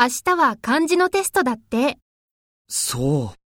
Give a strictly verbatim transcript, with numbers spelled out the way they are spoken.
明日は漢字のテストだって。 そう。